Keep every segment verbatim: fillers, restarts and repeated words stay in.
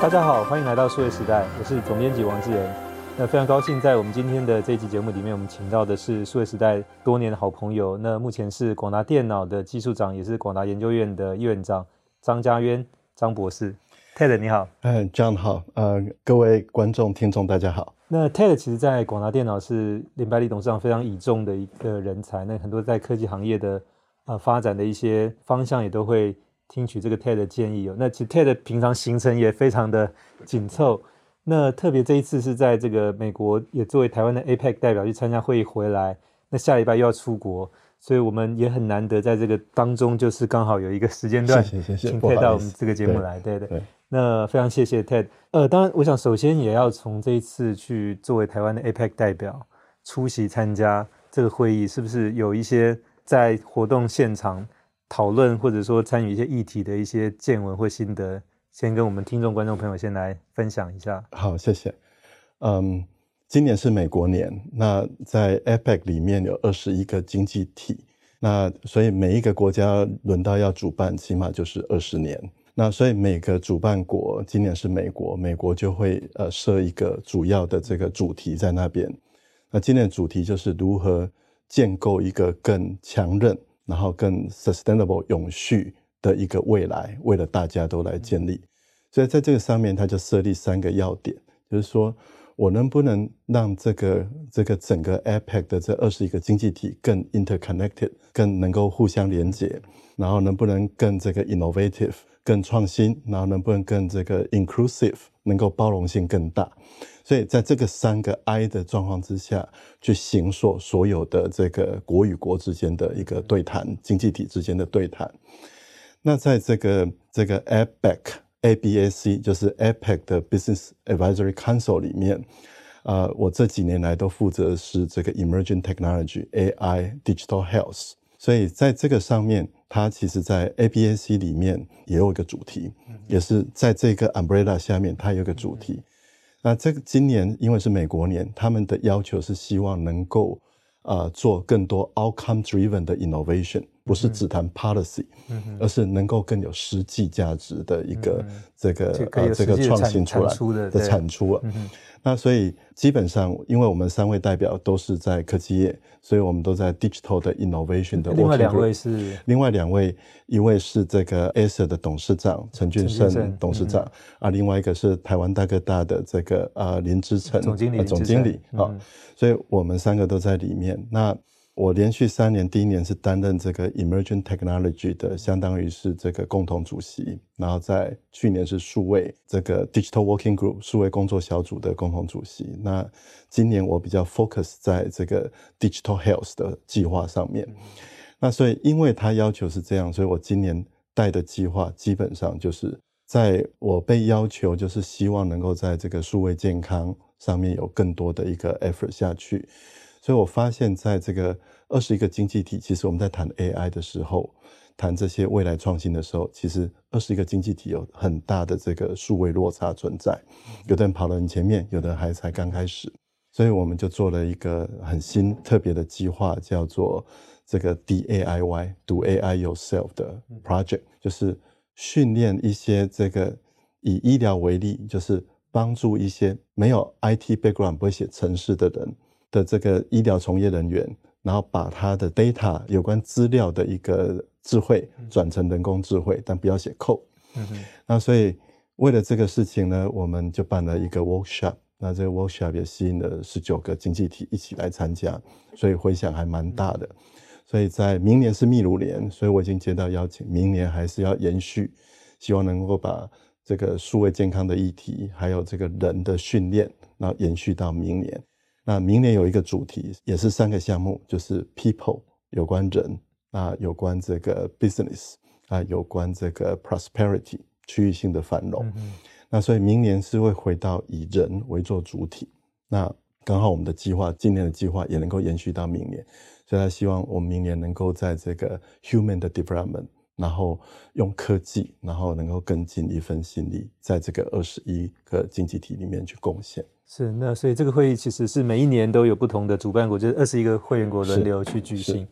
大家好，歡迎來到數位時代，我是總編輯王志仁。那非常高興在我們今天的這一集節目裡面，我們請到的是數位時代多年的好朋友，那目前是廣達電腦的技術長，也是廣達研究院的院長張家淵張博士。Ted 你好。 嗯 John 好，呃，各位觀眾聽眾大家好。 那 Ted 其實在廣達電腦是林百里董事長非常倚重的一個人才，那很多在科技行業的呃發展的一些方向也都會聽取這個 Ted 的建議哦。那其實 Ted 平常行程也非常的緊湊，那特別這一次是在這個美國也作為台灣的 A P E C 代表去參加會議回來，那下禮拜又要出國，所以我們也很難得在這個當中就是剛好有一個時間段請 Ted 到我們這個節目來。對對對，那非常謝謝 Ted。呃，當然我想首先也要從這一次去作為台灣的 A P E C 代表出席參加這個會議，是不是有一些在活動現場討論或者說參與一些議題的一些見聞或心得，先跟我們聽眾觀眾朋友先來分享一下。 好，謝謝。嗯，今年是美國年，那在 A P E C 裡面有二十一個經濟體，那所以每一個國家輪到要主辦起碼就是二十年，那所以每個主辦國今年是美國，美國就會呃設一個主要的這個主題在那邊。那今年的主題就是如何建構一個更強韌然後更 sustainable 永續的一個未來，為了大家都來建立。所以在這個上面他就設立三個要點，就是說我能不能讓這個這個整個 A P E C 的這二十一個經濟體更 interconnected， 更能夠互相連結，然後能不能更這個 innovative， 更創新，然後能不能更這個 inclusive， 能夠包容性更大。所以在這個三個 I 的狀況之下，去形塑所有的這個國與國之間的一個對談，經濟體之間的對談。那在這個這個 A P E C A B A C 就是 A P E C 的 Business Advisory Council 裡面，呃，我這幾年來都負責的是這個 Emerging Technology A I Digital Health， 所以在這個上面，它其實在 A B A C 裡面也有一個主題，也是在這個 umbrella 下面，它有一個主題。那這個今年因為是美國年，他們的要求是希望能夠呃做更多 outcome driven 的 innovation， 不是只談 policy，嗯，而是能夠更有實際價值的一個這個、嗯、呃這個創新出來的產出啊。那所以基本上，因為我們三位代表都是在科技業，所以我們都在 digital 的 innovation 的 working group。另外兩位是？另外兩位，一位是這個 Acer 的董事長陳俊勝董事長，嗯，啊，另外一個是台灣大哥大的這個呃林之誠總經理，呃、總經理啊，嗯，所以我們三個都在裡面。那我連續三年，第一年是擔任這個 Emerging Technology 的，相當於是這個共同主席，然後在去年是數位這個 Digital Working Group 數位工作小組的共同主席。那今年我比較 focus 在這個 Digital Health 的計劃上面。那所以因為他要求是這樣，所以我今年帶的計劃基本上就是在我被要求就是希望能夠在這個數位健康上面有更多的一個 effort 下去。所以我發現在這個二十一個經濟體，其實我們在談 A I 的時候，談這些未來創新的時候，其實二十一個經濟體有很大的這個數位落差存在，有的人跑得很前面，有的人還才剛開始。所以我們就做了一個很新特別的計劃，叫做這個 D A I Y Do A I Yourself 的 project， 就是訓練一些這個以醫療為例，就是幫助一些沒有 I T background 不會寫程式的人的這個醫療從業人員，然後把他的 data 有關資料的一個智慧轉成人工智慧，但不要寫 code。嗯哼。那所以為了這個事情呢，我們就辦了一個 workshop。那這個 workshop 也吸引了十九個經濟體一起來參加，所以回響還蠻大的。所以在明年是秘魯年，所以我已經接到邀請，明年還是要延續，希望能夠把這個數位健康的議題，還有這個人的訓練，然後延續到明年。那明年有一個主題，也是三個項目，就是 people 有關人，啊有關這個 business， 啊有關這個 prosperity 區域性的繁榮。嗯，那所以明年是會回到以人為做主體。那剛好我們的計劃，今年的計劃也能夠延續到明年，所以他希望我們明年能夠在這個 human 的 development， 然後用科技，然後能夠更盡一份心力，在這個二十一個經濟體裡面去貢獻。 是，那所以這個會議其實是每一年都有不同的主辦國，就是二十一個會員國輪流去舉行。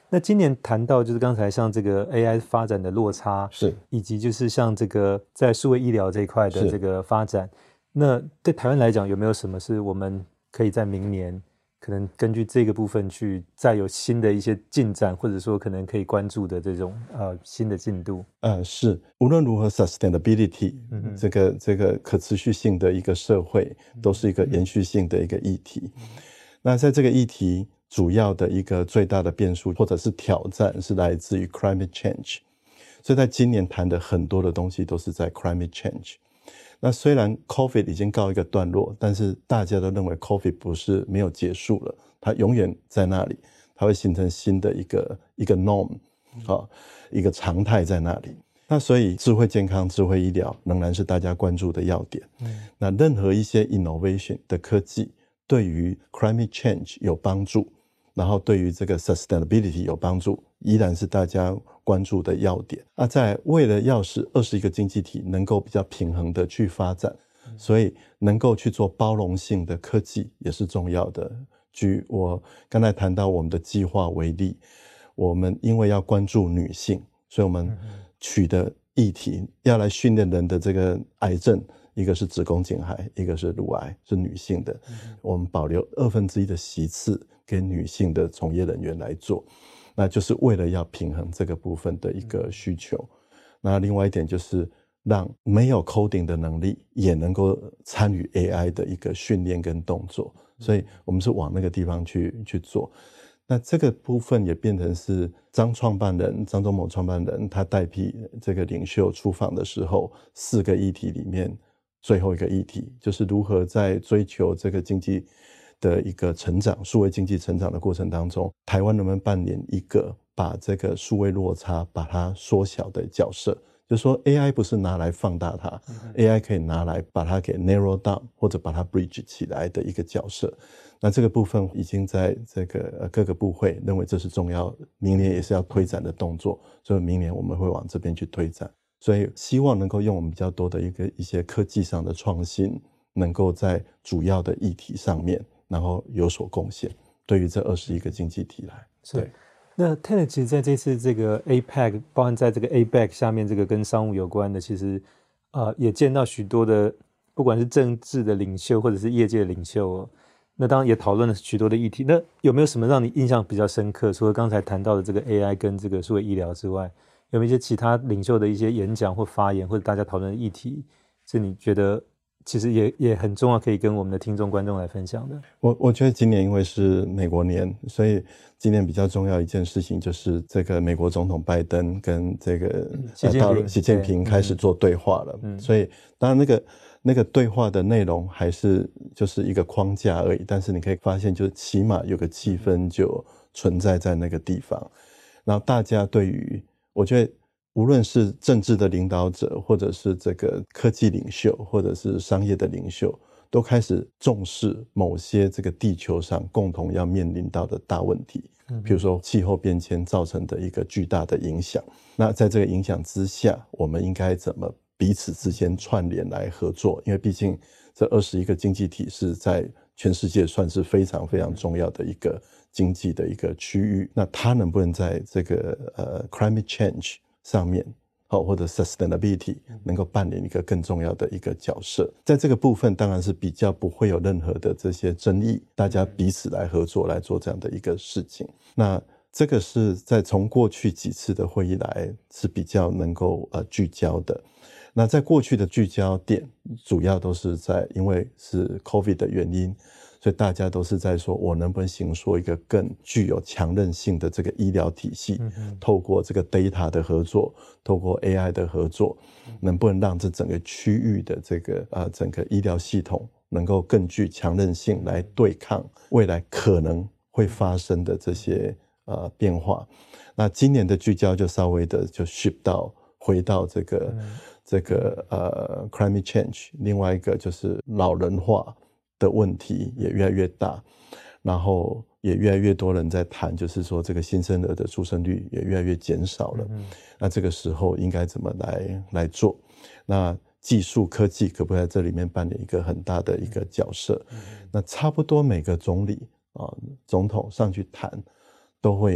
那今年談到就是剛才像這個 A I 發展的落差， 是， 以及就是像這個在數位醫療這一塊的這個發展，那對台灣來講有沒有什麼是我們可以在明年可能根據這個部分去再有新的一些進展，或者說可能可以關注的這種呃新的進度？呃， 是，無論如何 ，sustainability、嗯、這個這個可持續性的一個社會，都是一個延續性的一個議題。嗯、那在這個議題，主要的一個最大的變數或者是挑戰是來自於 climate change， 所以在今年談的很多的東西都是在 climate change。那雖然 COVID 已經告一個段落，但是大家都認為 COVID 不是沒有結束了，它永遠在那裡，它會形成新的一個一個 norm， 啊，一個常態在那裡。那所以智慧健康、智慧醫療仍然是大家關注的要點。嗯、那任何一些 innovation 的科技對於 climate change 有幫助，然後對於這個 sustainability 有幫助，依然是大家關注的要點。那在為了要使二十一個經濟體能夠比較平衡的去發展，嗯、所以能夠去做包容性的科技也是重要的。舉我剛才談到我們的計劃為例，我們因為要關注女性，所以我們取的議題要來訓練人的這個癌症，一個是子宮頸癌，一個是乳癌，是女性的，嗯、我們保留二分之一的席次給女性的從業人員來做，那就是為了要平衡這個部分的一個需求。嗯、那另外一點就是讓沒有 coding 的能力也能夠參與 A I 的一個訓練跟動作，所以我們是往那個地方去去做。那這個部分也變成是張創辦人張忠謀創辦人他代替這個領袖出訪的時候，四個議題裡面最後一個議題就是如何在追求這個經濟的一個成長，數位經濟成長的過程當中，台灣能不能扮演一個把這個數位落差把它縮小的角色？就是說 A I 不是拿來放大它，嗯、A I 可以拿來把它給 narrow down 或者把它 bridge 起來的一個角色。那這個部分已經在這個各個部會認為這是重要，明年也是要推展的動作，所以明年我們會往這邊去推展。所以希望能夠用我們比較多的一個一些科技上的創新，能夠在主要的議題上面，然後有所貢獻，對於這二十一個經濟體來。對。 那 Ted 其實在這次這個 A P E C， 包含在這個 A B E C 下面這個跟商務有關的，其實呃也見到許多的，不管是政治的領袖或者是業界的領袖哦，那當然也討論了許多的議題。那有沒有什麼讓你印象比較深刻？除了剛才談到的這個 A I 跟這個數位醫療之外，有沒有一些其他領袖的一些演講或發言，或者大家討論的議題，是你覺得其實也也很重要，可以跟我們的聽眾觀眾來分享的？ 我我覺得今年因為是美國年，所以今年比較重要一件事情就是這個美國總統拜登跟這個習近平、呃、習近平開始做對話了。嗯、所以當然那個那個對話的內容還是就是一個框架而已，但是你可以發現，就起碼有個氣氛就存在在那個地方。然後大家對於，我覺得無論是政治的領導者，或者是這個科技領袖，或者是商業的領袖，都開始重視某些這個地球上共同要面臨到的大問題，嗯，比如說氣候變遷造成的一個巨大的影響。那在這個影響之下，我們應該怎麼彼此之間串聯來合作？因為畢竟這二十一個經濟體是在全世界算是非常非常重要的一個經濟的一個區域。那它能不能在這個呃 climate change 上面，或者 sustainability 能夠扮演一個更重要的一個角色？在這個部分當然是比較不會有任何的這些爭議，大家彼此來合作來做這樣的一個事情。那這個是在從過去幾次的會議來是比較能夠呃聚焦的。那在過去的聚焦點主要都是在因為是 COVID 的原因，所以大家都是在說我能不能形塑一個更具有強韌性的這個醫療體系，嗯嗯，透過這個 data 的合作，透過 A I 的合作，能不能讓這整個區域的這個呃整個醫療系統能夠更具強韌性來對抗未來可能會發生的這些呃變化。那今年的聚焦就稍微的就 shift 到回到這個、嗯、這個呃 climate change， 另外一個就是老人化的問題也越來越大，然後也越來越多人在談，就是說這個新生兒的出生率也越來越減少了。嗯、那這個時候應該怎麼來來做？那技術科技可不可以在這裡面扮演一個很大的一個角色？嗯、那差不多每個總理啊、總統上去談，都會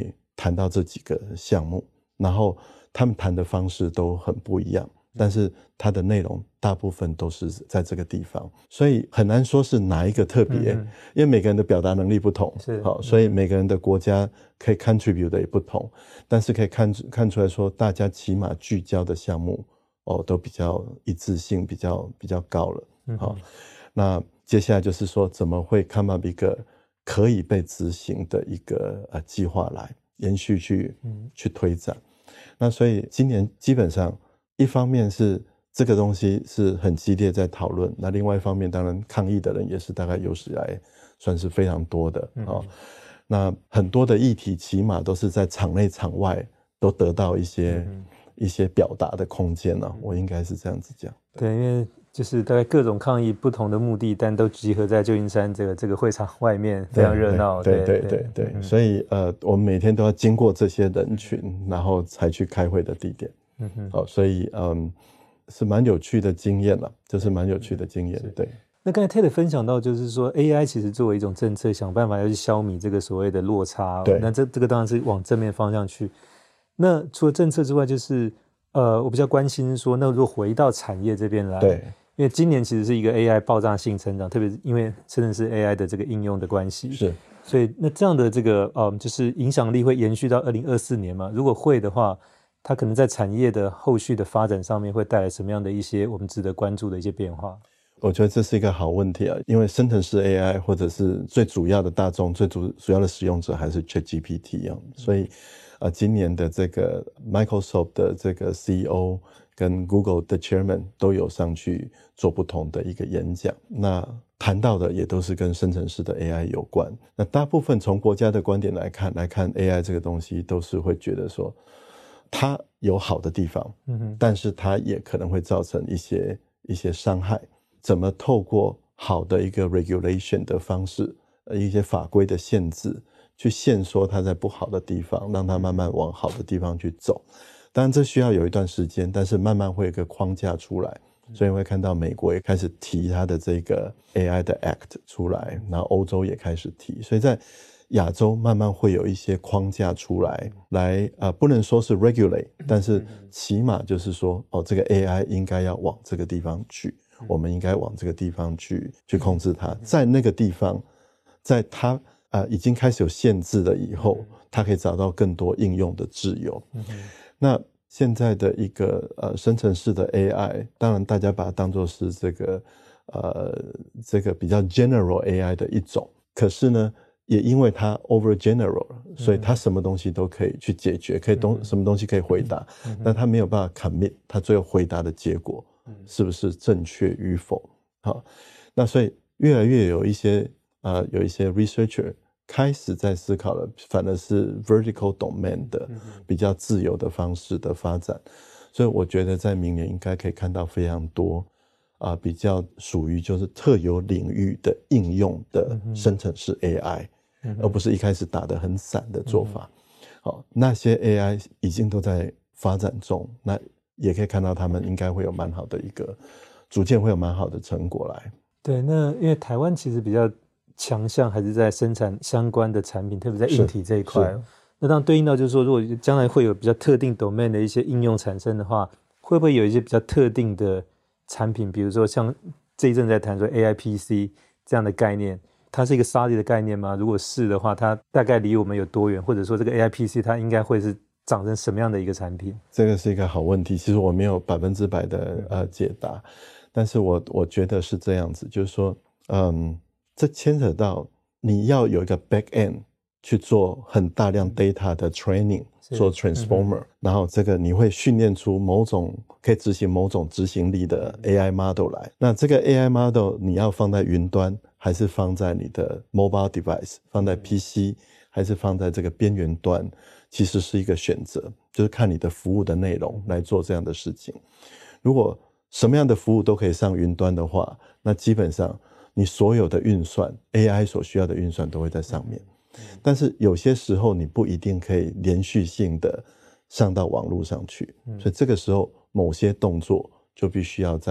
談到這幾個項目，然後他們談的方式都很不一樣，但是它的內容大部分都是在這個地方，所以很難說是哪一個特別，嗯、因為每個人的表達能力不同，好，所以每個人的國家可以 contribute 的也不同，但是可以看看出來說，大家起碼聚焦的項目哦都比較一致性比較比較高了，好、嗯，那接下來就是說怎麼會 come up 一個可以被執行的一個呃計劃來延續去、嗯、去推展。那所以今年基本上一方面是這個東西是很激烈在討論，那另外一方面當然抗議的人也是大概有史以來算是非常多的、嗯哦、那很多的議題起碼都是在場內場外都得到一些、嗯、一些表達的空間、啊、我應該是這樣子講。 對，因為就是大概各種抗議不同的目的，但都集合在舊金山這個這個會場外面，非常熱鬧。 對對對 對, 對, 對, 對、嗯，所以呃，我們每天都要經過這些人群，然後才去開會的地點。嗯哼，好、哦，所以嗯，是蠻有趣的經驗了，就是蠻有趣的經驗。對。 那剛才 Ted 分享到，就是說 A I 其實作為一種政策，想辦法要去消弭這個所謂的落差。對。那這這個當然是往正面方向去。那除了政策之外，就是呃，我比較關心說，那如果回到產業這邊來，對。因為今年其實是一個 A I 爆炸性成長，特別是因為真的是 A I 的這個應用的關係， 是， 所以那這樣的這個嗯，就是影響力會延續到二零二四年嘛？如果會的話，它可能在產業的後續的發展上面會帶來什麼樣的一些我們值得關注的一些變化？ 我覺得這是一個好問題啊，因為生成式 A I 或者是最主要的大眾、最主主要的使用者還是 ChatGPT 啊，所以呃，今年的這個 Microsoft 的這個 C E O 跟 Google 的 Chairman 都有上去做不同的一個演講，那談到的也都是跟生成式的 A I 有關。那大部分從國家的觀點來看，來看 A I 這個東西，都是會覺得說它有好的地方，嗯哼，但是它也可能會造成一些一些傷害。怎麼透過好的一個 regulation 的方式，一些法規的限制，去限縮它在不好的地方，讓它慢慢往好的地方去走。當然這需要有一段時間，但是慢慢會有一個框架出來，所以會看到美國也開始提它的這個 A I 的 Act 出來，然後歐洲也開始提，所以在亞洲慢慢會有一些框架出來，來呃不能說是 regulate， 但是起碼就是說哦，這個 A I 應該要往這個地方去，我們應該往這個地方去去控制它，在那個地方，在它呃已經開始有限制了以後，它可以找到更多應用的自由。那現在的一個呃生成式的 A I， 當然大家把它當作是這個呃這個比較 general A I 的一種，可是呢，也因為它 over general， 所以它什麼東西都可以去解決，可以東什麼東西可以回答，但它沒有辦法 commit， 它最後回答的結果是不是正確與否？好，那所以越來越有一些呃有一些 researcher。開始在思考了，反而是 vertical domain 的比較自由的方式的發展，所以我覺得在明年應該可以看到非常多啊、呃，比較屬於就是特有領域的應用的生成式 A I，、嗯、而不是一開始打得很散的做法。好、嗯，那些 A I 已經都在發展中，那也可以看到他們應該會有蠻好的一個，逐漸會有蠻好的成果來。 對，那因為台灣其實比較強項還是在生產相關的產品，特別在硬體這一塊。那當然對應到就是說，如果將來會有比較特定 domain 的一些應用產生的話，會不會有一些比較特定的產品，比如說像這一陣在談說 A I P C 這樣的概念，它是一個 solid 的概念嗎？如果是的話，它大概離我們有多遠？或者說這個 A I P C 它應該會是長成什麼樣的一個產品？ 這個是一個好問題，其實我沒有百分之百的呃解答，但是我我覺得是這樣子，就是說，嗯。這牽扯到你要有一個 back end 去做很大量 data 的 training， 做 transformer，、嗯、然後這個你會訓練出某種可以執行某種執行力的 A I model 來。那這個 A I model 你要放在雲端，還是放在你的 mobile device， 放在 P C， 還是放在這個邊緣端，其實是一個選擇，就是看你的服務的內容來做這樣的事情。如果什麼樣的服務都可以上雲端的話，那基本上你所有的運算 A I 所需要的運算都會在上面，但是有些時候你不一定可以連續性的上到網絡上去，所以這個時候某些動作就必須要在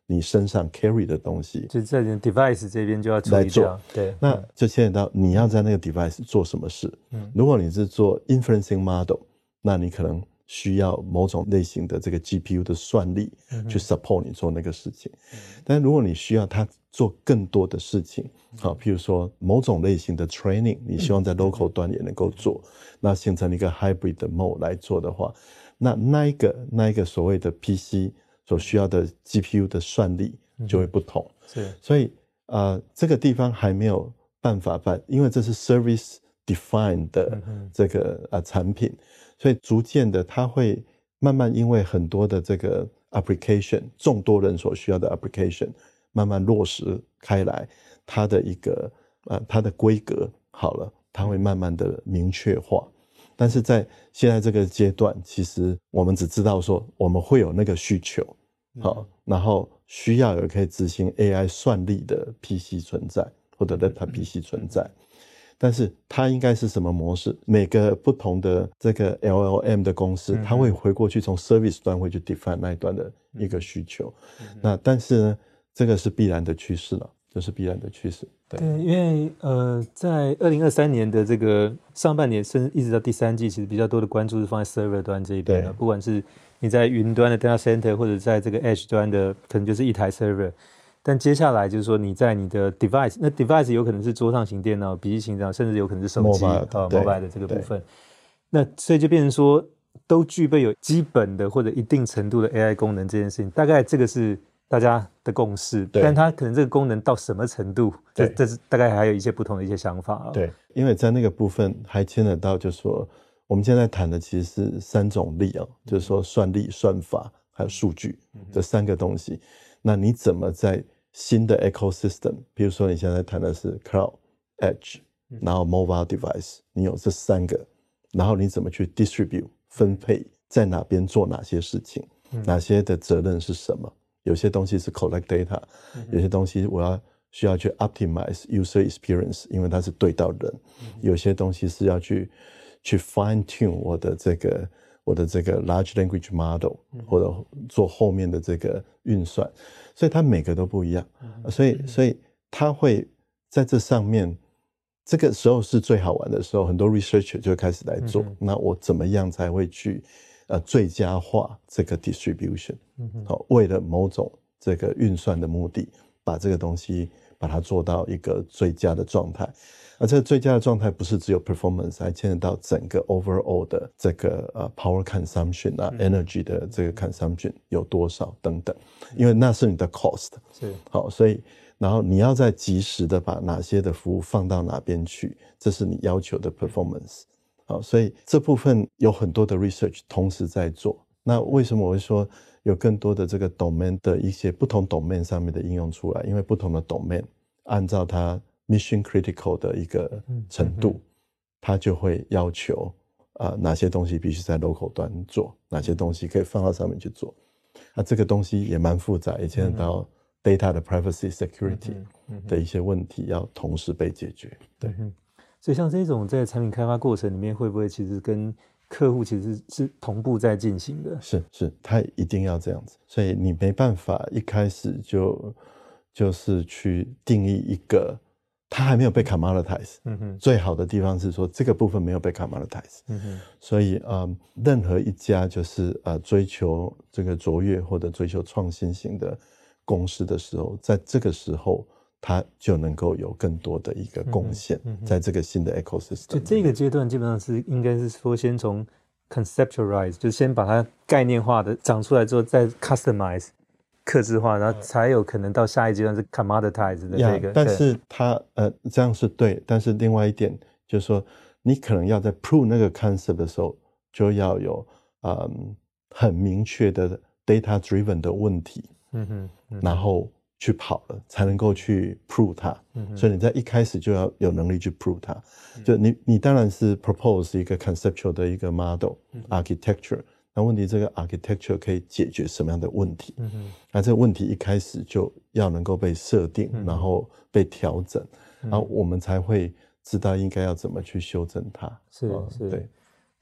你身上 carry 的東西， 就在你 device 這邊就要處理掉。對， 那就牽扯到你要在那個 device 做什麼事。嗯，如果你是做 inferencing model，那你可能需要某種類型的這個 G P U 的算力去 support 你做那個事情。嗯、但如果你需要它做更多的事情，好，譬如說某種類型的 training， 你希望在 local 端也能夠做，那形成一個 hybrid 的 mode 來做的話，那那一個那一個所謂的 P C 所需要的 G P U 的算力就會不同。嗯、是，所以呃，這個地方還沒有辦法辦，因為這是 service defined 的這個呃產品。所以逐漸的，它會慢慢因為很多的這個 application， 眾多人所需要的 application， 慢慢落實開來，它的一個呃它的規格好了，它會慢慢的明確化。但是在現在這個階段，其實我們只知道說我們會有那個需求，好，嗯、然後需要有可以執行 A I 算力的 P C 存在，或者 Data P C 存在。但是它應該是什麼模式？每個不同的這個 L L M 的公司，它會回過去從 service 端會去 define 那一端的一個需求。嗯、那但是呢，這個是必然的趨勢了，這、就是必然的趨勢。對， 對，因為呃，在二零二三年的這個上半年，甚至一直到第三季，其實比較多的關注是放在 server 端這一邊了。不管是你在雲端的 data center， 或者在這個 edge 端的，可能就是一台 server。但接下來就是說，你在你的 device， 那 device 有可能是桌上型電腦、筆記型電腦，甚至有可能是手機啊 mobile 的這個部分。那所以就變成說，都具備有基本的或者一定程度的 A I 功能這件事情，大概這個是大家的共識。但它可能這個功能到什麼程度，這這是大概還有一些不同的一些想法。 對，因為在那個部分還牽扯到，就是說我們現在談的其實是三種力啊，就是說算力、算法還有數據這三個東西。那你怎麼在新的 ecosystem， 比如說你現在談的是 cloud、edge， 然後 mobile device， 你有這三個，然後你怎麼去 distribute 分配，在哪邊做哪些事情，哪些的責任是什麼？有些東西是 collect data， 有些東西我要需要去 optimize user experience， 因為它是對到人，有些東西是要去去 fine tune 我的這個我的這個 large language model， 或者做後面的這個運算。所以它每個都不一樣，所以所以它會在這上面，這個時候是最好玩的時候，很多 researcher 就會開始來做。嗯、那我怎麼樣才會去呃最佳化這個 distribution？好、嗯，為了某種這個運算的目的，把這個東西把它做到一個最佳的狀態。而這個最佳的狀態不是只有 performance， 還牽扯到整個 overall 的這個呃 power consumption 啊、嗯、，energy 的這個 consumption 有多少等等，因為那是你的 cost。是，好，所以然後你要再及時的把哪些的服務放到哪邊去，這是你要求的 performance。好，所以這部分有很多的 research 同時在做。那為什麼我會說有更多的這個 domain 的一些不同 domain 上面的應用出來？因為不同的 domain 按照它mission critical 的一個程度，嗯嗯、它就會要求啊、呃、哪些東西必須在 local 端做，哪些東西可以放到上面去做。那、啊、這個東西也蠻複雜，也牽扯到 data 的 privacy security 的一些問題要同時被解決。對、嗯， 所以像這種在產品開發過程裡面，會不會其實跟客戶其實是同步在進行的？ 是是，它一定要這樣子，所以你沒辦法一開始就就是去定義一個。它還沒有被 commoditize，嗯哼，最好的地方是說這個部分沒有被 commoditize，嗯哼，所以呃，任何一家就是呃追求這個卓越或者追求創新型的公司的時候，在這個時候它就能夠有更多的一個貢獻，嗯哼，在這個新的 ecosystem。就這個階段基本上是應該是說先從 conceptualize，就是先把它概念化的長出來之後再 customize。客製化，然後才有可能到下一階段是 commoditize 的這個。Yeah, 但是它呃這樣是對，但是另外一點就是說，你可能要在 prove 那個 concept 的時候，就要有嗯很明確的 data driven 的問題，嗯哼，嗯哼，然後去跑了，才能夠去 prove 它。嗯哼，所以你在一開始就要有能力去 prove 它。嗯、就你你當然是 propose 一個 conceptual 的一個 model、嗯、architecture。那問題，這個 architecture 可以解決什麼樣的問題？嗯哼，那這個問題一開始就要能夠被設定，嗯、然後被調整，嗯、然後我們才會知道應該要怎麼去修正它。是是，對。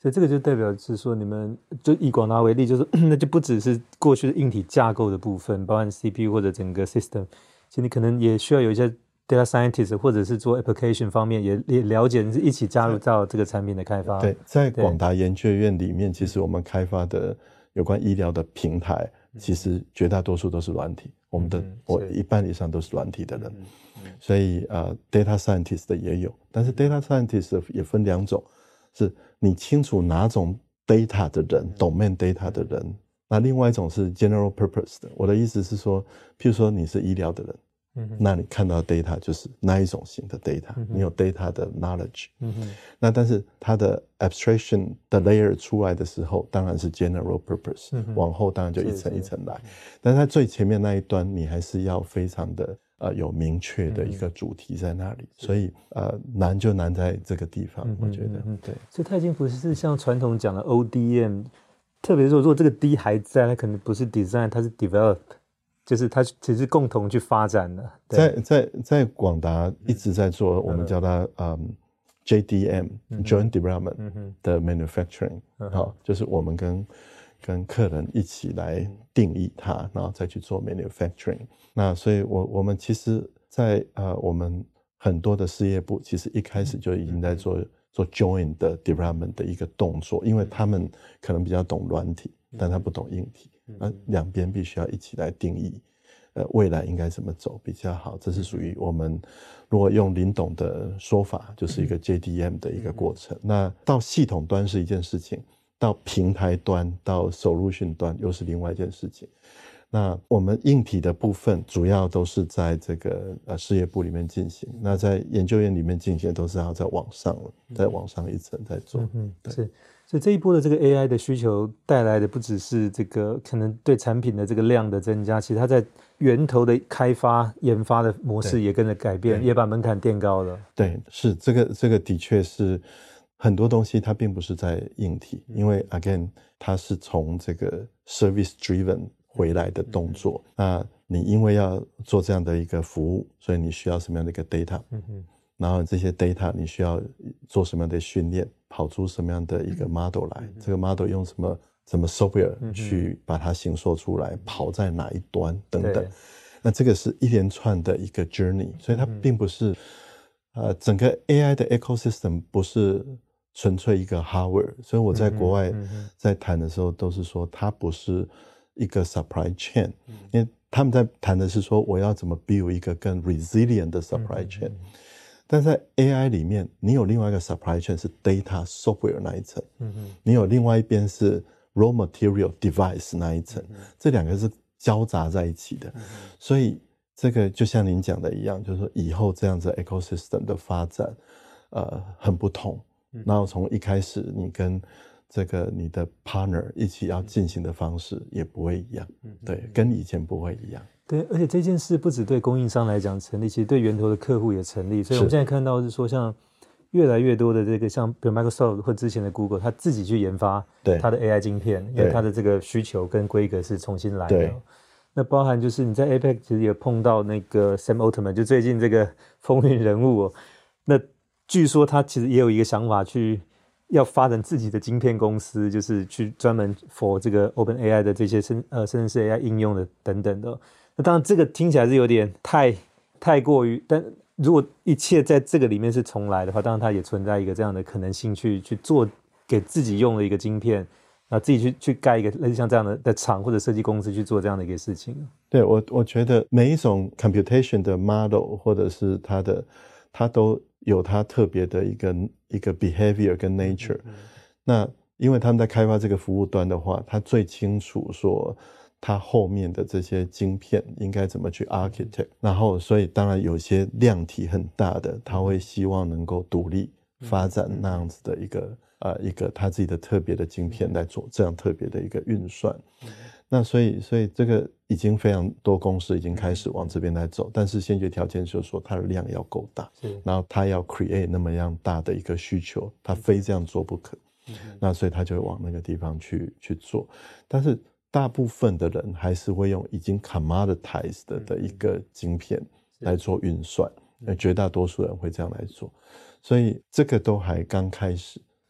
所以這個就代表是說，你們就以廣達為例，就是那就不只是過去的硬體架構的部分，包含 C P U 或者整個 system， 其實你可能也需要有一些 data scientist 或者是做 application 方面也也了解，你是一起加入到這個產品的開發。 對，在廣達研究院裡面，其實我們開發的有關醫療的平台，其實絕大多數都是軟體，我們的、嗯、我一半以上都是軟體的人，嗯嗯、所以呃 data scientist 的也有，但是 data scientist 也分兩種，是你清楚哪種 data 的人、嗯、domain data 的人，嗯、那另外一種是 general purpose 的。我的意思是說，譬如說你是醫療的人。嗯、那你看到 data 就是那一種型的 data，、嗯、你有 data 的 knowledge，、嗯、那但是它的 abstraction 的 layer 出來的時候，當然是 general purpose，、嗯、往後當然就一層一層來，但是在最前面那一端，你還是要非常的呃有明確的一個主題在那裡，嗯、所以呃難就難在這個地方，嗯、我覺得，嗯、對。 所以它已經不是像傳統講的 O D M， 特別是說如果這個 D 還在，它可能不是 design， 它是 develop。就是它其實共同去發展的， 在在在廣達一直在做，我們叫它嗯 J D M、嗯、Joint Development 的 Manufacturing，、嗯哦、就是我們跟跟客人一起來定義它，然後再去做 Manufacturing。那所以我我們其實在，在呃我們很多的事業部，其實一開始就已經在做、嗯、做 Joint 的 Development 的一個動作，因為他們可能比較懂軟體，但他不懂硬體。那兩邊必須要一起來定義，呃，未來應該怎麼走比較好？這是屬於我們如果用林董的說法，就是一個 J D M 的一個過程。那到系統端是一件事情，到平台端到 solution 端又是另外一件事情。那我們硬體的部分主要都是在這個呃事業部裡面進行，那在研究院裡面進行都是要再往上了，再往上一層再做。嗯，對。是。所以這一波的這個 A I 的需求帶來的不只是這個可能對產品的這個量的增加，其實它在源頭的開發研發的模式也跟着改變，也把門檻墊高了。對，是這個這個的確是很多東西它並不是在硬體，因為 again 它是從這個 service driven 回來的動作。那你因為要做這樣的一個服務，所以你需要什麼樣的一個 data？嗯哼。然後這些 data 你需要做什麼樣的訓練，跑出什麼樣的一個 model 來，嗯、這個 model 用什麼什麼 software 去把它形塑出來，嗯、跑在哪一端等等，那這個是一連串的一個 journey， 所以它並不是、嗯、呃整個 A I 的 ecosystem 不是純粹一個 hardware， 所以我在國外在談的時候都是說它不是一個 supply chain，、嗯、因為他們在談的是說我要怎麼 build 一個更 resilient 的 supply chain。嗯嗯嗯，但在 A I 裡面，你有另外一個 supply chain 是 data software 那一層，嗯哼，你有另外一邊是 raw material device 那一層，嗯、這兩個是交雜在一起的，嗯、所以這個就像您講的一樣，就是說以後這樣子 ecosystem 的發展，呃，很不同。嗯、然後從一開始你跟這個你的 partner 一起要進行的方式也不會一樣，嗯、對，跟以前不會一樣。 對，而且這件事不只對供應商來講成立，其實對源頭的客戶也成立。所以我們現在看到是說，像越來越多的這個，像比如 Microsoft 或之前的 Google，他自己去研發它的 A I 晶片，因為它的這個需求跟規格是重新來的。那包含就是你在 A P E C 其實也碰到那個 Sam Altman，就最近這個風雲人物哦。那據說他其實也有一個想法，去要發展自己的晶片公司，就是去專門 for 這個 Open A I 的這些生呃生成式 A I 應用的等等的。那當然，這個聽起來是有點太太過於，但如果一切在這個裡面是重來的話，當然它也存在一個這樣的可能性去，去去做給自己用的一個晶片，啊，自己去去蓋一個類似像這樣的的廠或者設計公司去做這樣的一個事情。 對，我我覺得每一種 computation 的 model 或者是它的，它都有它特別的一個一個 behavior 跟 nature。嗯嗯，那因為他們在開發這個服務端的話，他最清楚說，它後面的這些晶片應該怎麼去 architect， 然後所以當然有些量體很大的，他會希望能夠獨立發展那樣子的一個呃一個他自己的特別的晶片來做這樣特別的一個運算。那所以所以這個已經非常多公司已經開始往這邊來走，但是先決條件就是說它的量要夠大，然後它要 create 那麼樣大的一個需求，它非這樣做不可。那所以他就會往那個地方去去做，但是大部分的人還是會用已經 commoditized 的一個晶片來做運算，而絕大多數人會這樣來做，所以這個都還剛開始。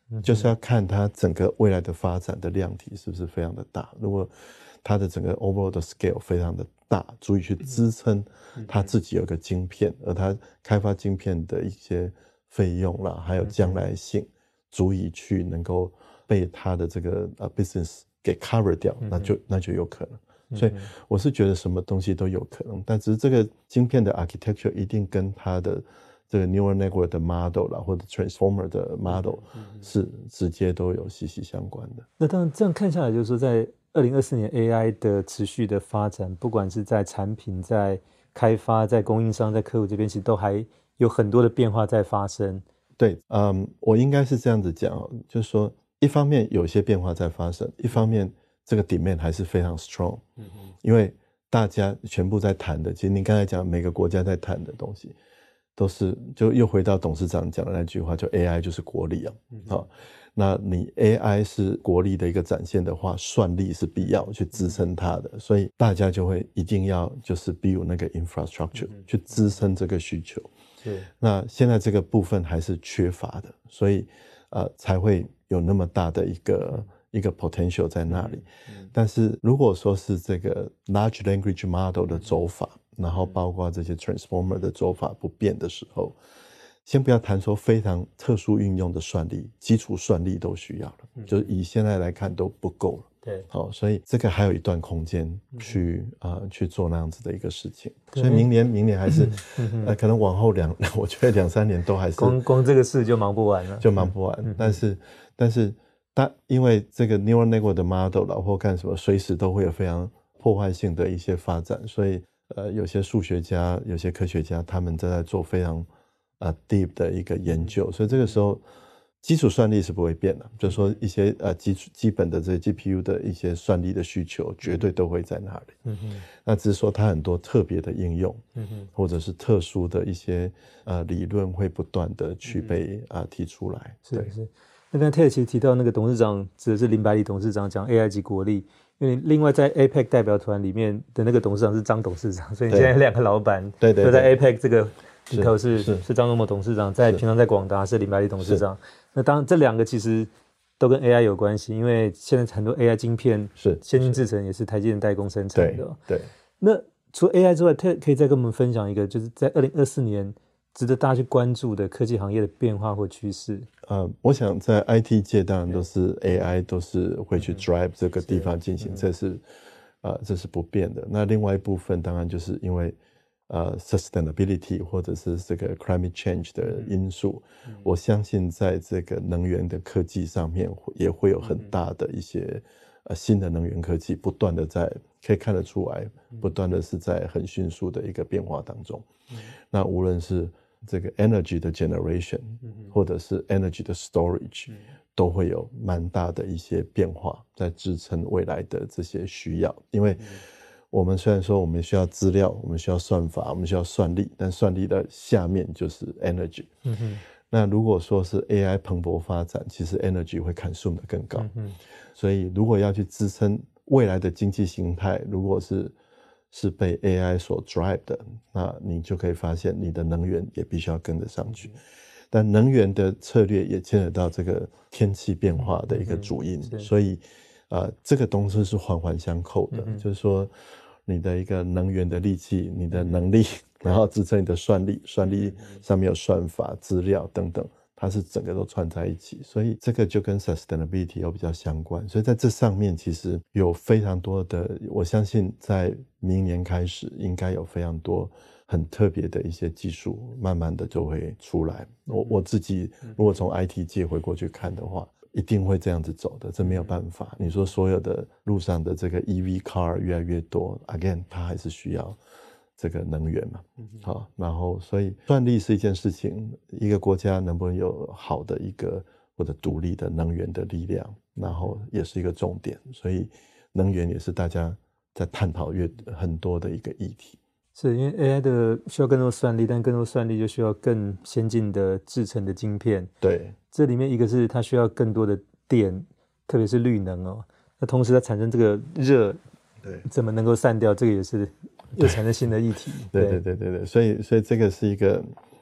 就是要看它整個未來的發展的量體是不是非常的大。如果它的整個 overall 的 scale 非常的大，足以去支撐它自己有個晶片，而它開發晶片的一些費用啦，還有將來性，足以去能夠被它的這個呃 business 給 cover 掉，那就那就有可能。所以我是覺得什麼東西都有可能，但只是這個晶片的 architecture 一定跟它的這個 neural network 的 model 啦，或者 transformer 的 model 是直接都有息息相關的。 那當然這樣看下來，就是說在二零二四年 A I 的持續的發展，不管是在產品、在開發、在供應商、在客戶這邊，其實都還有很多的變化在發生。 對，嗯，我應該是這樣子講，就是說一方面有些變化在發生，一方面這個 demand 還是非常 strong，嗯哼，因為大家全部在談的，其實您剛才講每個國家在談的東西，都是就又回到董事長講的那句話，就 A I 就是國力啊，嗯哼，好，那你 A I 是國力的一個展現的話，算力是必要去支撐它的，所以大家就會一定要就是 build 那個 infrastructure，嗯，去支撐這個需求。對，那現在這個部分還是缺乏的，所以呃才會有那麼大的一個一個 potential 在那裡。嗯，但是如果說是這個 large language model 的走法，然後包括這些 transformer 的走法不變的時候，先不要談說非常特殊運用的算力，基礎算力都需要了，嗯，就是以現在來看都不夠了。對，好，所以這個還有一段空間去啊，嗯呃、去做那樣子的一個事情。所以明年，明年還是呃，可能往後兩，我覺得兩三年都還是光光這個事就忙不完了， 就忙不完。嗯，但是，但是，但因為這個 neural network 的 model 啦，或幹什麼，隨時都會有非常破壞性的一些發展，所以呃，有些數學家、有些科學家，他們正在做非常啊、呃、deep 的一個研究，所以這個時候。基礎算力是不會變的，就是說一些呃基礎基本的這些 G P U 的一些算力的需求，絕對都會在那裡。嗯哼，那只是說它很多特別的應用，嗯哼，或者是特殊的一些呃理論會不斷的去被啊、嗯呃、提出來。 是是。那剛才 Ted 其實提到那個董事長指的是林百里董事長講 A I 及國力，因為另外在 A P E C 代表團裡面的那個董事長是張董事長，所以你現在兩個老闆對對， 都在 A P E C 這個裡頭是是是張忠謀董事長，在平常在廣達是林百里董事長。那當然，這兩個其實都跟 A I 有關係，因為現在很多 A I 晶片是先進製程也是台積電代工生產的。 對。對， 那除了 A I 之外，可可以再跟我們分享一個，就是在二零二四年值得大家去關注的科技行業的變化或趨勢。 呃，我想在 I T 界當然都是 A I 都是會去 drive 這個地方進行，嗯、這是呃這是不變的。那另外一部分當然就是因為。呃 ，sustainability 或者是這個 climate change 的因素，嗯，我相信在這個能源的科技上面也會有很大的一些，嗯，呃新的能源科技不斷的在可以看得出來，不斷的是在很迅速的一個變化當中。嗯，那無論是這個 energy 的 generation，嗯，或者是 energy 的 storage，嗯，都會有蠻大的一些變化在支撐未來的這些需要，因為。嗯我們雖然說我們需要資料，我們需要算法，我們需要算力，但算力的下面就是 energy。嗯哼。那如果說是 A I 蓬勃發展，其實 energy 會 consume 的更高。嗯哼。所以如果要去支撐未來的經濟形態，如果是是被 A I 所 drive 的，那你就可以發現你的能源也必須要跟得上去。嗯，但能源的策略也牽扯到這個天氣變化的一個主因，嗯，所以呃，這個東西是環環相扣的，嗯，就是說。你的一個能源的利器，你的能力，然後支撐你的算力，算力上面有算法、資料等等，它是整個都串在一起，所以這個就跟 sustainability 有比較相關。所以在這上面其實有非常多的，我相信在明年開始應該有非常多很特別的一些技術，慢慢的就會出來。我我自己如果從 I T 界回過去看的話。一定會這樣子走的，這沒有辦法。你說所有的路上的這個 E V car 越來越多 ，again， 它還是需要這個能源嘛。好，然後所以算力是一件事情，一個國家能不能有好的一個或者獨立的能源的力量，然後也是一個重點。所以能源也是大家在探討越很多的一個議題。 是因為 A I 的需要更多算力，但更多算力就需要更先進的製程的晶片。 對， 這裡面一個是它需要更多的電，特別是綠能哦。那同時它產生這個熱，對，怎麼能夠散掉？這個也是又產生新的議題。 對對對對對，所以所以這個是一個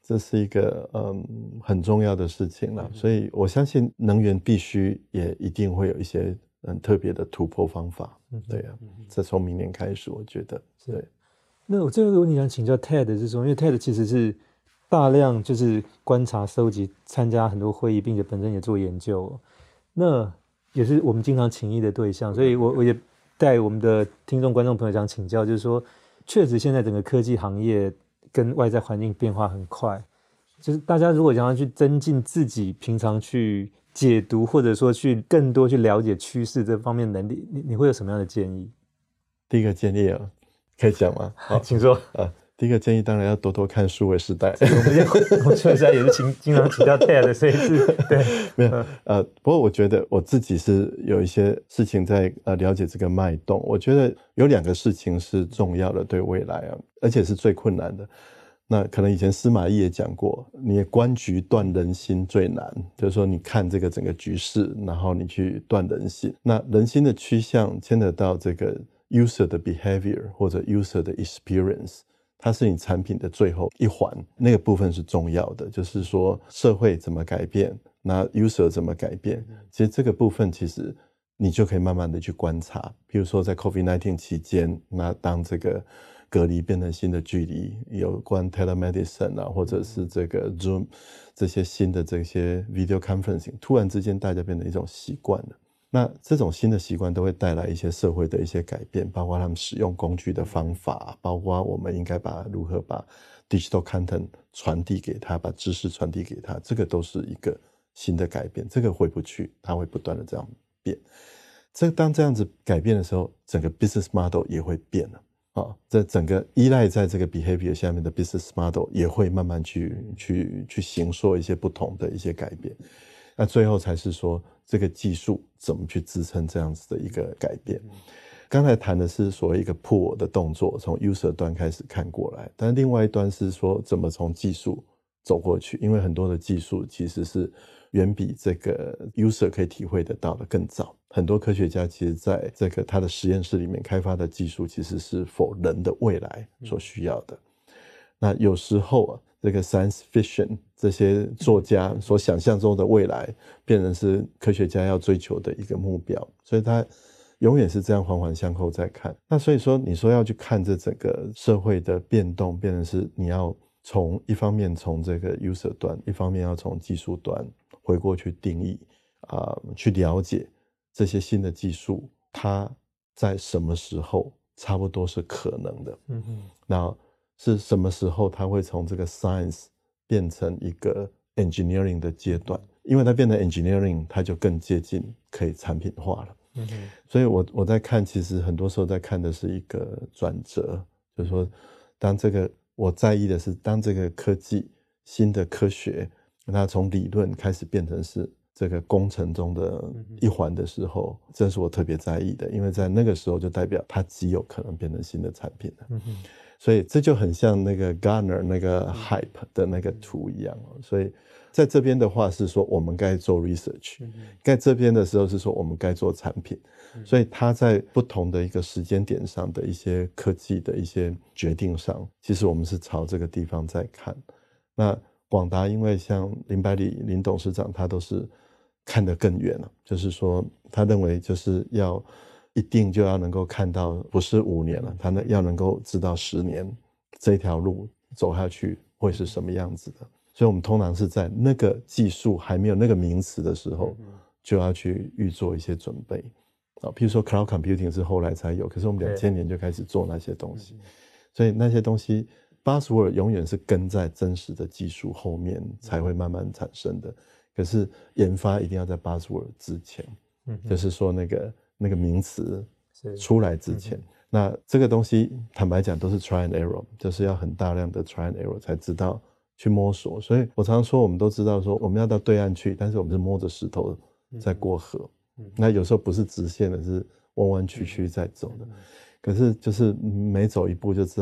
這是一個嗯很重要的事情了。所以我相信能源必須也一定會有一些很特別的突破方法。對啊，這從明年開始，我覺得對。 那我最後一個問題想請教 Ted 是說，因為 Ted 其實是大量就是觀察、收集、參加很多會議，並且本身也做研究、哦，那也是我們經常請益的對象，所以我我也帶我們的聽眾、觀眾朋友想請教，就是說，確實現在整個科技行業跟外在環境變化很快，就是大家如果想要去增進自己平常去解讀，或者說去更多去了解趨勢這方面的能力，你你會有什麼樣的建議？ 第一個建議啊。可以講嗎？好， 請說。 啊，第一個建議當然要多多看數位時代。 我們我數位時代也是經經常提到 Ted， 所以是對。 沒有呃，不過我覺得我自己是有一些事情在呃了解這個脈動。我覺得有兩個事情是重要的，對未來啊，而且是最困難的。那可能以前司馬懿也講過，你觀局斷人心最難，就是說你看這個整個局勢，然後你去斷人心。那人心的趨向牽扯到這個user 的 behavior 或者 user 的 experience， 它是你產品的最後一環，那個部分是重要的，就是說社會怎麼改變，那 user 怎麼改變，其實這個部分其實你就可以慢慢的去觀察。比如說在 COVID 十九 期間，那當這個隔離變成新的距離，有關 telemedicine 啊，或者是這個 Zoom 這些新的這些 video conferencing， 突然之間大家變成一種習慣了。那這種新的習慣都會帶來一些社會的一些改變，包括他們使用工具的方法，包括我們應該把如何把 digital content 傳遞給他，把知識傳遞給他，這個都是一個新的改變，這個回不去，它會不斷的這樣變。這當這樣子改變的時候，整個 business model 也會變了啊，這整個依賴在這個 behavior 下面的 business model 也會慢慢去去去形塑一些不同的一些改變。那最後才是說這個技術怎麼去支撐這樣子的一個改變。剛才談的是所謂一個 pull 的動作，從 user 端開始看過來，但另外一端是說怎麼從技術走過去，因為很多的技術其實是遠比這個 user 可以體會得到的更早。很多科學家其實在這個他的實驗室裡面開發的技術，其實是 for 人的未來所需要的。那有時候啊，這個 science fiction 這些作家所想象中的未來，變成是科學家要追求的一個目標，所以他永遠是這樣環環相扣在看。那所以說，你說要去看這整個社會的變動，變成是你要從一方面從這個 user 端，一方面要從技術端回過去定義啊、呃，去了解這些新的技術，它在什麼時候差不多是可能的。嗯哼，那是什麼時候它會從這個 science 變成一個 engineering 的階段？因為它變成 engineering， 它就更接近可以產品化了。嗯哼，所以我我在看，其實很多時候在看的是一個轉折，就是說，當這個我在意的是，當這個科技新的科學，它從理論開始變成是這個工程中的一環的時候，這是我特別在意的，因為在那個時候就代表它極有可能變成新的產品了。嗯哼，所以這就很像那個 Gartner 那個 hype 的那個圖一樣。所以在這邊的話是說我們該做 research，在這邊的時候是說我們該做產品。所以它在不同的一個時間點上的一些科技的一些決定上，其實我們是朝這個地方在看。那廣達因為像林百里林董事長他都是看得更遠了，就是說他認為就是要一定就要能夠看到不是五年了，他要能夠知道十年這條路走下去會是什麼樣子的。所以我們通常是在那個技術還沒有那個名詞的時候，就要去預做一些準備。啊，譬如說 cloud computing 是後來才有，可是我們兩千年就開始做那些東西，所以那些東西 buzzword 永遠是跟在真實的技術後面才會慢慢產生的。可是研發一定要在 buzzword 之前，嗯，就是說那個那個名詞出來之前，那這個東西坦白講都是 try and error， 就是要很大量的 try and error 才知道去摸索。所以我常常說，我們都知道說我們要到對岸去，但是我們是摸着石頭在過河。那有時候不是直線的，是彎彎曲曲在走的。可是就是每走一步就知道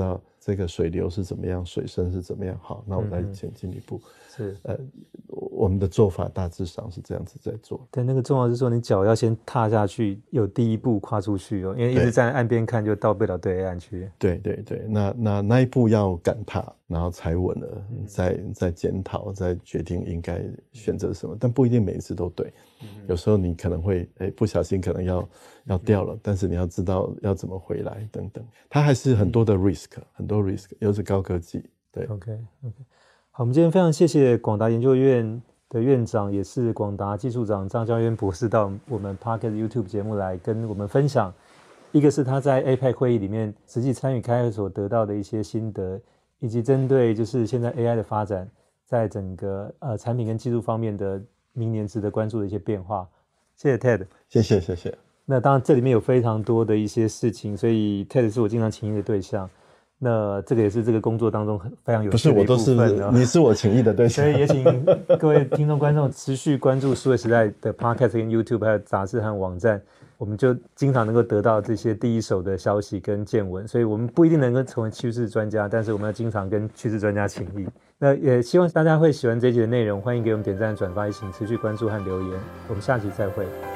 這個水流是怎麼樣，水深是怎麼樣，好，那我再前進一步。 嗯、是， 呃，我們的做法大致上是這樣子在做。 但那個重要是說，你腳要先踏下去，有第一步跨出去哦，因為一直站在岸邊看，就到不了對岸去。對對對，那那那一步要敢踏，然後踩穩了，嗯、再再檢討，再決定應該選擇什麼，但不一定每一次都對。嗯、有時候你可能會哎不小心可能要要掉了，嗯、但是你要知道要怎麼回來等等，它還是很多的 risk，、嗯、很多 risk，又是高科技。對 ，OK OK。好，我們今天非常謝謝廣達研究院的院長，也是廣達技術長張交淵博士到我們 Podcast YouTube 節目來跟我們分享，一個是他在 A P E C 會議裡面實際參與開會所得到的一些心得，以及針對就是現在 A I 的發展，在整個呃產品跟技術方面的明年值得關注的一些變化。謝謝 Ted， 謝謝謝謝。 那當然這裡面有非常多的一些事情，所以 Ted 是我經常請益的對象。那這個也是這個工作當中非常有趣的一部分。不是，我都是你是我請益的對象。所以也請各位聽眾觀眾持續關注數位時代的 Podcast 跟 YouTube 還有雜誌和網站，我們就經常能夠得到這些第一手的消息跟見聞。所以我們不一定能夠成為趨勢專家，但是我們要經常跟趨勢專家請益。那也希望大家會喜歡這一集的內容，歡迎給我們點讚轉發，也請持續關注和留言。我們下期再會。